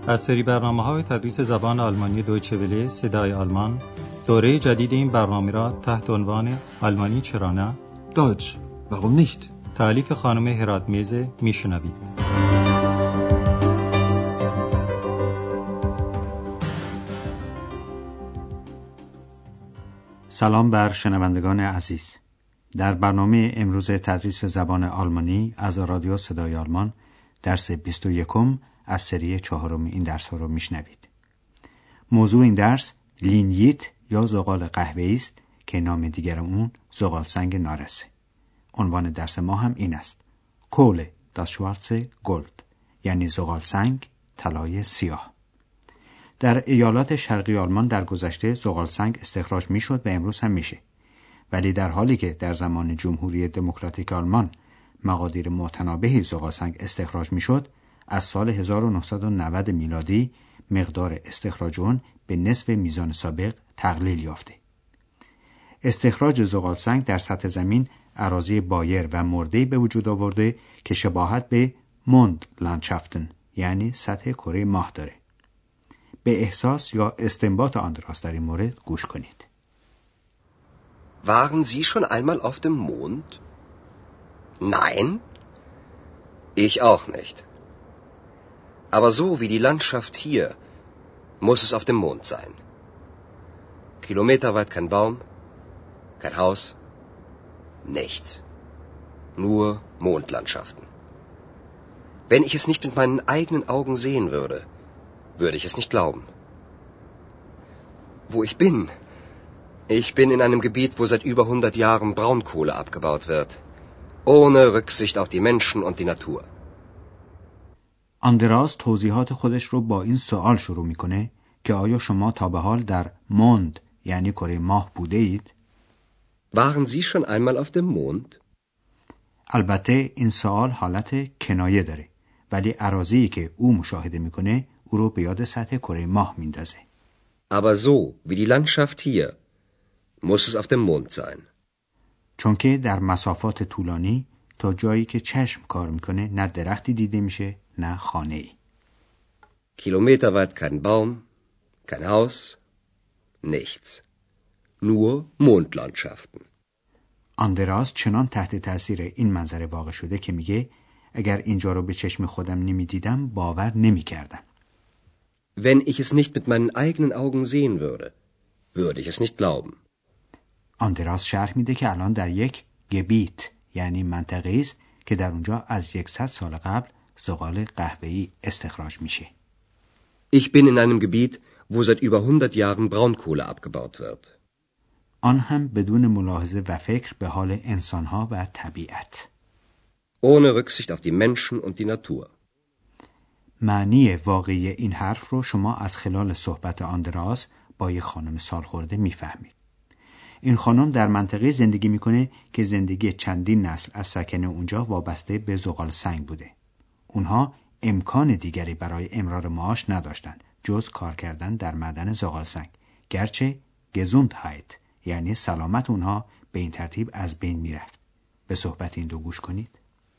از سری برنامه‌های تدریس زبان آلمانی دویچه وله صدای آلمان، دوره جدید این برنامه را تحت عنوان آلمانی چرا نه؟ Deutsch, warum nicht? تألیف خانم هراتمیز میشنوید. سلام بر شنوندگان عزیز. در برنامه امروز تدریس زبان آلمانی از رادیو صدای آلمان درس 21 از سری 4 این درس ها رو میشنوید. موضوع این درس لینیت یا زغال قهوه‌ای است که نام دیگر اون زغال سنگ نارسه. عنوان درس ما هم این است: کوله das schwarze Gold، یعنی زغال سنگ طلای سیاه. در ایالات شرقی آلمان در گذشته زغال سنگ استخراج میشد و امروز هم میشه. ولی در حالی که در زمان جمهوری دموکراتیک آلمان مقادیر متنابهی زغال سنگ استخراج میشد، از سال 1990 میلادی مقدار استخراج اون به نصف میزان سابق تقلیل یافته. استخراج زغال سنگ در سطح زمین اراضی بایر و مرده‌ای به وجود آورده که شباهت به موند لندشافتن، یعنی سطح کره ماه داره. به احساس یا استنباط آندراس در این مورد گوش کنید. Waren Sie schon einmal auf dem Mond? Nein? Ich auch nicht. Aber so wie die Landschaft hier, muss es auf dem Mond sein. Kilometerweit kein Baum, kein Haus, nichts. Nur Mondlandschaften. Wenn ich es nicht mit meinen eigenen Augen sehen würde, würde ich es nicht glauben. Wo ich bin? Ich bin in einem Gebiet, wo seit über 100 Jahren Braunkohle abgebaut wird. Ohne Rücksicht auf die Menschen und die Natur. آندراس توضیحات خودش رو با این سوال شروع میکنه که آیا شما تا به حال در موند یعنی کره ماه بوده اید؟ Waren Sie schon einmal auf dem Mond? البته این سوال حالت کنایه داره، ولی اراضیی که او مشاهده میکنه او رو به یاد سطح کره ماه میندازه. Aber so wie die Landschaft hier, muss es auf dem Mond sein. چون که در مسافات طولانی تا جایی که چشم کار میکنه نه درختی دیده میشه نه خانه‌ای. Kilometerweit kein Baum, kein Haus, nichts. Nur Mondlandschaften. آندراس چنان تحت تاثیر این منظره واقع شده که میگه اگر اینجا رو به چشم خودم نمیدیدم باور نمیکردم. Wenn ich es nicht mit meinen eigenen Augen sehen würde, würde ich es nicht glauben. آندراس شرح میده که الان در یک گبیت یعنی منطقه است که در اونجا از 100 سال قبل زغال قهوه‌ای استخراج میشه. Ich bin in einem Gebiet, wo seit über 100 Jahren Braunkohle abgebaut wird. آن هم بدون ملاحظه و فکر به حال انسانها و طبیعت. Ohne Rücksicht auf die Menschen und die Natur. معنی واقعی این حرف رو شما از خلال صحبت آندراس با یک خانم سالخورده میفهمید. این خانم در منطقه زندگی میکنه که زندگی چندین نسل از سکن اونجا وابسته به زغال سنگ بوده. اونها امکان دیگری برای امرار معاش نداشتن جز کار کردن در معدن زغال سنگ، گرچه Gesundheit یعنی سلامت اونها به این ترتیب از بین میرفت. به صحبت این دو گوش کنید.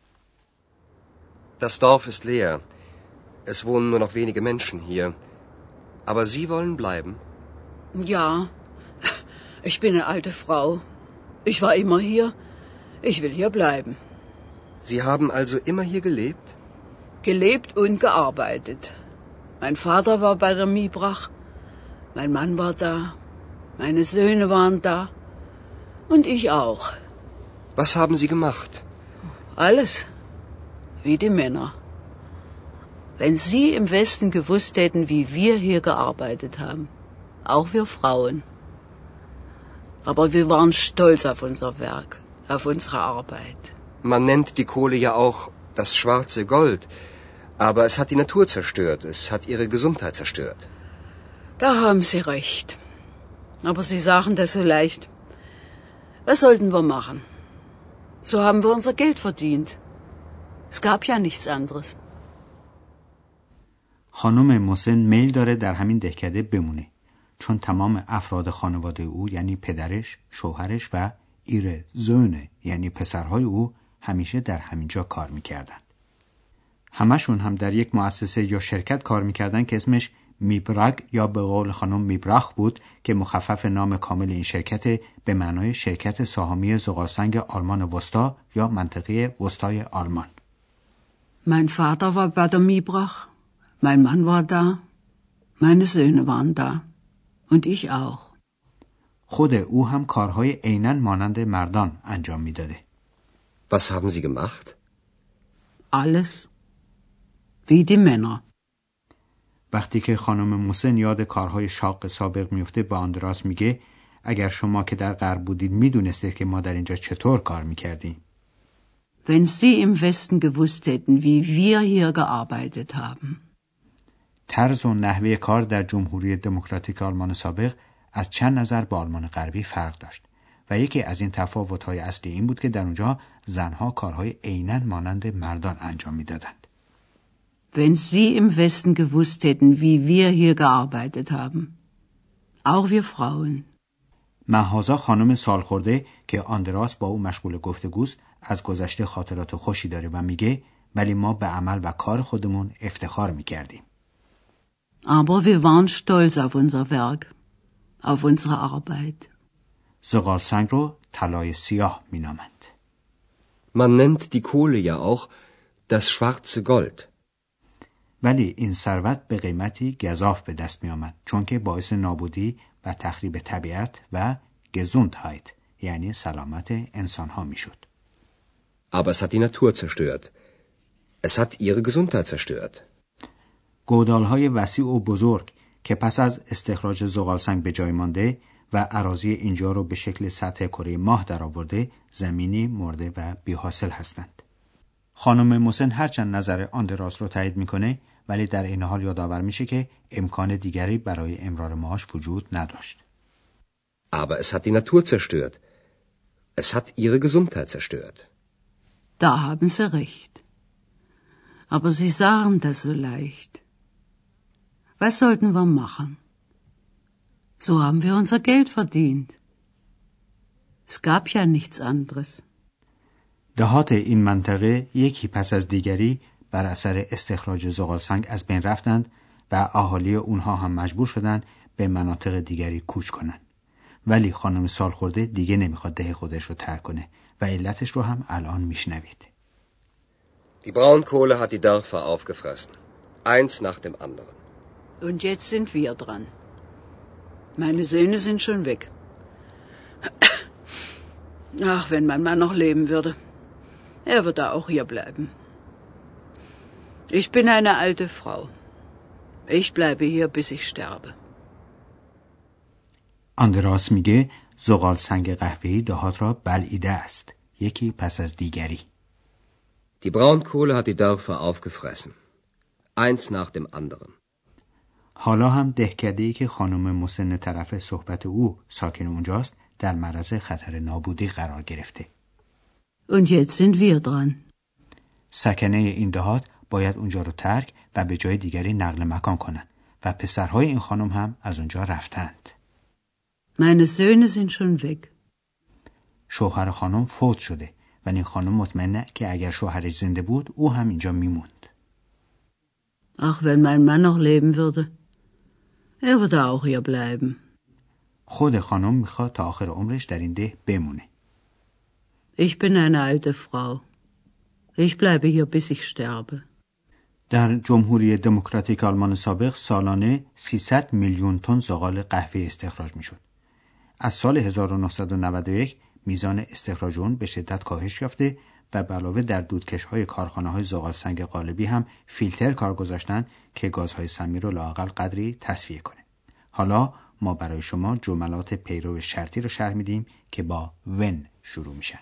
Das Dorf ist leer. Es wohnen nur noch wenige Menschen hier. Aber Sie wollen bleiben? Ja, ich bin eine alte Frau. Ich war immer hier. Ich will hier bleiben. Sie haben also immer hier gelebt? Gelebt und gearbeitet. Mein Vater war bei der Miebrach. Mein Mann war da. Meine Söhne waren da. Und ich auch. Was haben Sie gemacht? Alles. Wie die Männer. Wenn Sie im Westen gewusst hätten, wie wir hier gearbeitet haben. Auch wir Frauen. Aber wir waren stolz auf unser Werk, auf unsere Arbeit. Man nennt die Kohle ja auch das schwarze Gold. Aber es hat die Natur zerstört. Es hat ihre Gesundheit zerstört. Da haben Sie recht. Aber Sie sagen das so leicht. Was sollten wir machen? So haben wir unser Geld verdient. Es gab ja nichts anderes. خانم موسن میل داره در همین دهکده بمونه، چون تمام افراد خانواده او یعنی پدرش، شوهرش و ایره زونه یعنی پسرهای او همیشه در همینجا کار میکردند. همشون هم در یک مؤسسه یا شرکت کار میکردن که اسمش میبراگ یا به قول خانم میبراخ بود که مخفف نام کامل این شرکت به معنای شرکت سهامی زغالسنگ آلمان وسطا یا منطقه وسطای آلمان. Mein Vater war bei der Miebrach, mein Mann war da, meine Söhne waren da und ich auch. خود او هم کارهای عیناً مانند مردان انجام میداده. Was haben Sie gemacht? Alles wie die Männer. وقتی که خانم موسن یاد کارهای شاق سابق میفته با آندراس میگه اگر شما که در غرب بودید میدونستید که ما در اینجا چطور کار میکردیم. Wenn Sie im Westen gewusst hätten, wie wir hier gearbeitet haben. طرز و نحوه کار در جمهوری دموکراتیک آلمان سابق از چند نظر با آلمان غربی فرق داشت و یکی از این تفاوت‌های اصلی این بود که در اونجا زنها کارهای عیناً مانند مردان انجام میدادند. Wenn Sie im Westen gewusst hätten, wie wir hier gearbeitet haben. Auch wir Frauen. مهازا خانم سالخورده که آندراس با او مشغول گفتگوست از گذشته خاطرات خوشی داره و میگه ولی ما به عمل و کار خودمون افتخار میکردیم. Aber wir waren stolz auf unser Werk, auf unsere Arbeit. زغالسنگ رو طلای سیاه مینامند. Man nennt die Kohle ja auch das schwarze Gold. ولی این ثروت به قیمتی گزاف به دست می آمد چون که باعث نابودی و تخریب طبیعت و Gesundheit یعنی سلامت انسان ها می شد. Aber es hat die Natur zerstört. Es hat ihre Gesundheit zerstört. گودال‌های وسیع و بزرگ که پس از استخراج زغالسنگ به جای مانده و اراضی اینجا رو به شکل سطح کره ماه درآورده زمینی مرده و بی‌حاصل هستند. خانم موسن هرچند نظر آندراس رو تایید میکنه ولی در این حال یادآور میشه که امکان دیگری برای امرار معاش وجود نداشت. Aber es hat die Natur zerstört. Es hat ihre Gesundheit zerstört. Da haben Sie recht. Aber Sie sagen das so leicht. Was sollten wir machen? So haben wir unser Geld verdient. Es gab ja nichts anderes. دهات این منطقه یکی پس از دیگری بر اثر استخراج زغالسنگ از بین رفتند و اهالی اونها هم مجبور شدند به مناطق دیگری کوچ کنند. ولی خانم سالخورده دیگه نمیخواد ده خودش رو ترک کنه و علتش رو هم الان میشنوید. Die Braunkohle hat die Dörfer aufgefressen. Eins nach dem anderen. Und jetzt sind wir dran. Meine Söhne sind schon weg. Ach, wenn mein Mann noch leben würde. Er würde auch hier bleiben. Ich bin eine alte Frau. Ich bleibe hier, bis ich sterbe. آندراس میگه زغالسنگ قهوه‌ای دهات را بلعیده است. یکی پس از دیگری. Die Braunkohle hat die Dörfer aufgefressen. Eins nach dem anderen. حالا هم دهکده‌ای که خانم مسن طرف صحبت او ساکن اونجاست در معرض خطر نابودی قرار گرفته. Und jetzt sind wir dran. سکنه این دهات باید اونجا رو ترک و به جای دیگری نقل مکان کنند و پسرهای این خانم هم از اونجا رفتند. Meine Söhne sind schon weg. شوهر خانم فوت شده و این خانم مطمئنه که اگر شوهرش زنده بود او هم اینجا میموند. Ach, wenn mein Mann noch leben würde. Er würde auch hier bleiben. خود خانم میخواد تا آخر عمرش در این ده بمونه. Ich bin eine alte Frau. Ich bleibe hier, bis ich sterbe. در جمهوری دموکراتیک آلمان سابق سالانه 300 میلیون تن زغال قهوه استخراج میشد. از سال 1991 میزان استخراج اون به شدت کاهش یافته و به علاوه در دودکش‌های کارخانه‌های زغالسنگ قالبی هم فیلتر کار گذاشتن که گازهای سمی رو لااقل قدری تصفیه کنه. حالا ما برای شما جملات پیرو شرطی رو شرح میدیم که با when شروع میشن.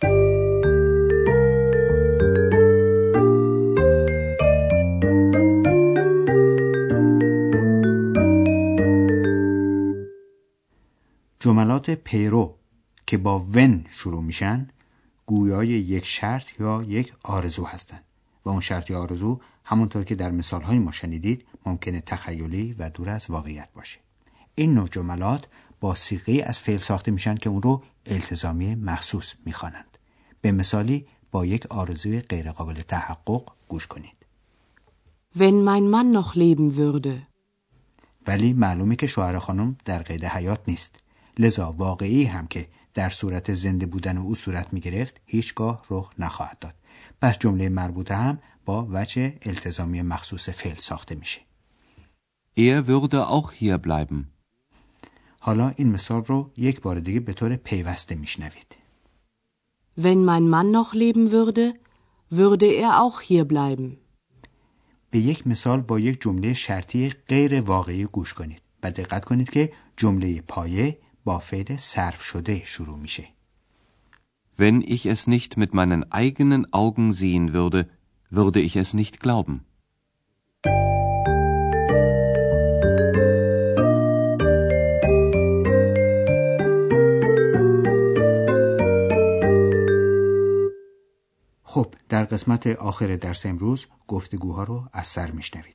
جملات پیرو که با when شروع میشن گویای یک شرط یا یک آرزو هستند و اون شرط یا آرزو همونطور که در مثالهای ما شنیدید ممکنه تخیلی و دور از واقعیت باشه. این نوع جملات با صیغه از فعل ساخته میشن که اون رو التزامی مخصوص میخوانند. به مثالی با یک آرزوی غیر قابل تحقق گوش کنید. Wenn mein Mann noch leben würde. ولی معلومه که شوهر خانم در قید حیات نیست. لذا واقعی هم که در صورت زنده بودن او صورت می گرفت هیچگاه رخ نخواهد داد. پس جمله مربوطه هم با وجه التزامی مخصوص فعل ساخته میشه. Er würde auch hier bleiben. حالا این مثال رو یک بار دیگه به طور پیوسته میشنوید. Wenn mein Mann noch leben würde, würde er auch hier bleiben. به یک مثال با یک جمله شرطی غیر واقعی گوش کنید و دقت کنید که جمله پایه با فعل صرف شده شروع میشه. Wenn ich es nicht mit meinen eigenen Augen sehen würde, würde ich es nicht glauben. خب در قسمت آخر درس امروز گفتگوها رو از سر میشنوید.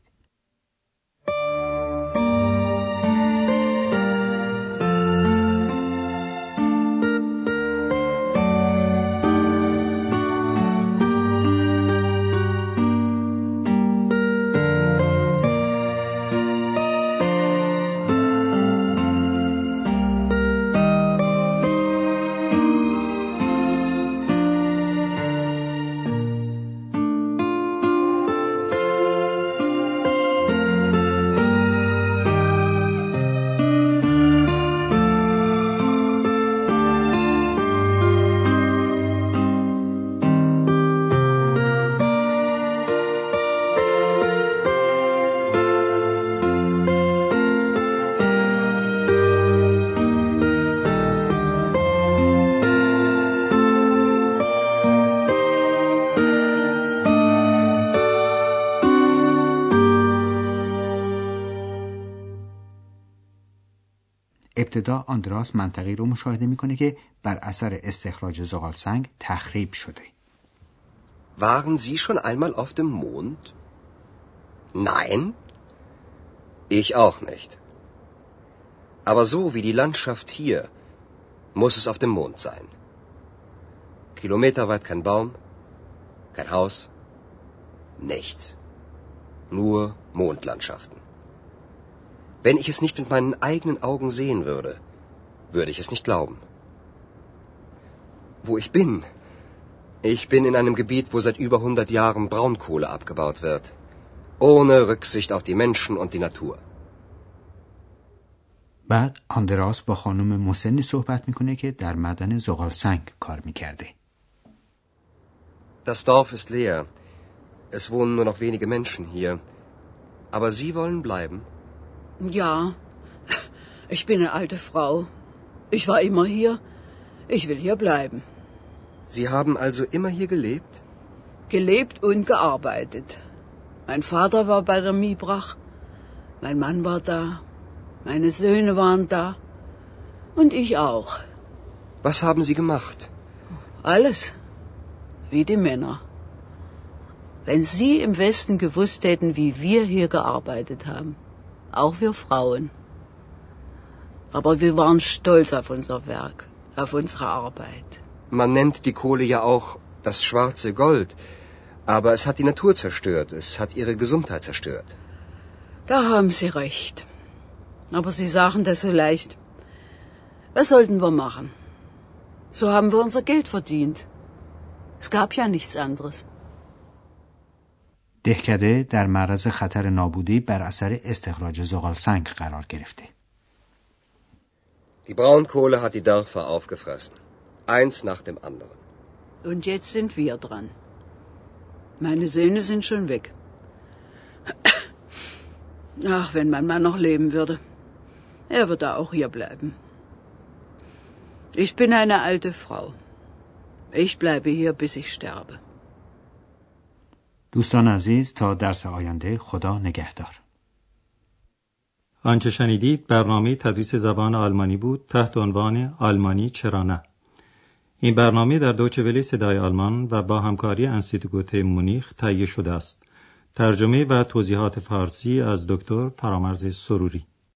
ابتدا آندراس منطقه‌ای رو مشاهده میکنه که بر اثر استخراج زغالسنگ تخریب شده. Waren Sie schon einmal auf dem Mond? Nein? Ich auch nicht. Aber so wie die Landschaft hier, muss es auf dem Mond sein. Kilometerweit kein Baum, kein Haus, nichts. Nur Mondlandschaften. Wenn ich es nicht mit meinen eigenen Augen sehen würde, würde ich es nicht glauben. Wo ich bin? Ich bin in einem Gebiet, wo seit über 100 Jahren Braunkohle abgebaut wird. Ohne Rücksicht auf die Menschen und die Natur. بعد آندراس با خانم مسنی صحبت میکنه که در معدن زغالسنگ کار میکرده. Das Dorf ist leer. Es wohnen nur noch wenige Menschen hier. Aber Sie wollen bleiben? Ja, ich bin eine alte Frau. Ich war immer hier. Ich will hier bleiben. Sie haben also immer hier gelebt? Gelebt und gearbeitet. Mein Vater war bei der Miebrach. Mein Mann war da. Meine Söhne waren da. Und ich auch. Was haben Sie gemacht? Alles. Wie die Männer. Wenn Sie im Westen gewusst hätten, wie wir hier gearbeitet haben. Auch wir Frauen. Aber wir waren stolz auf unser Werk, auf unsere Arbeit. Man nennt die Kohle ja auch das schwarze Gold. Aber es hat die Natur zerstört. Es hat ihre Gesundheit zerstört. Da haben Sie recht. Aber Sie sagen das so leicht. Was sollten wir machen? So haben wir unser Geld verdient. Es gab ja nichts anderes. دهکده در معرض خطر نابودی بر اثر استخراج زغالسنگ قرار گرفته. Die Braunkohle hat die Dörfer aufgefressen. Eins nach dem anderen. Und jetzt sind wir dran. Meine Söhne sind schon weg. Ach, wenn mein Mann noch leben würde. Er würde auch hier bleiben. Ich bin eine alte Frau. Ich bleibe hier, bis ich sterbe. دوستان عزیز تا درس آینده خدا نگهدار. آنچه شنیدید برنامه تدریس زبان آلمانی بود تحت عنوان آلمانی چرا نه. این برنامه در دویچه وله صدای آلمان و با همکاری انستیتوت مونیخ تهیه شده است. ترجمه و توضیحات فارسی از دکتر فرامرز سروری.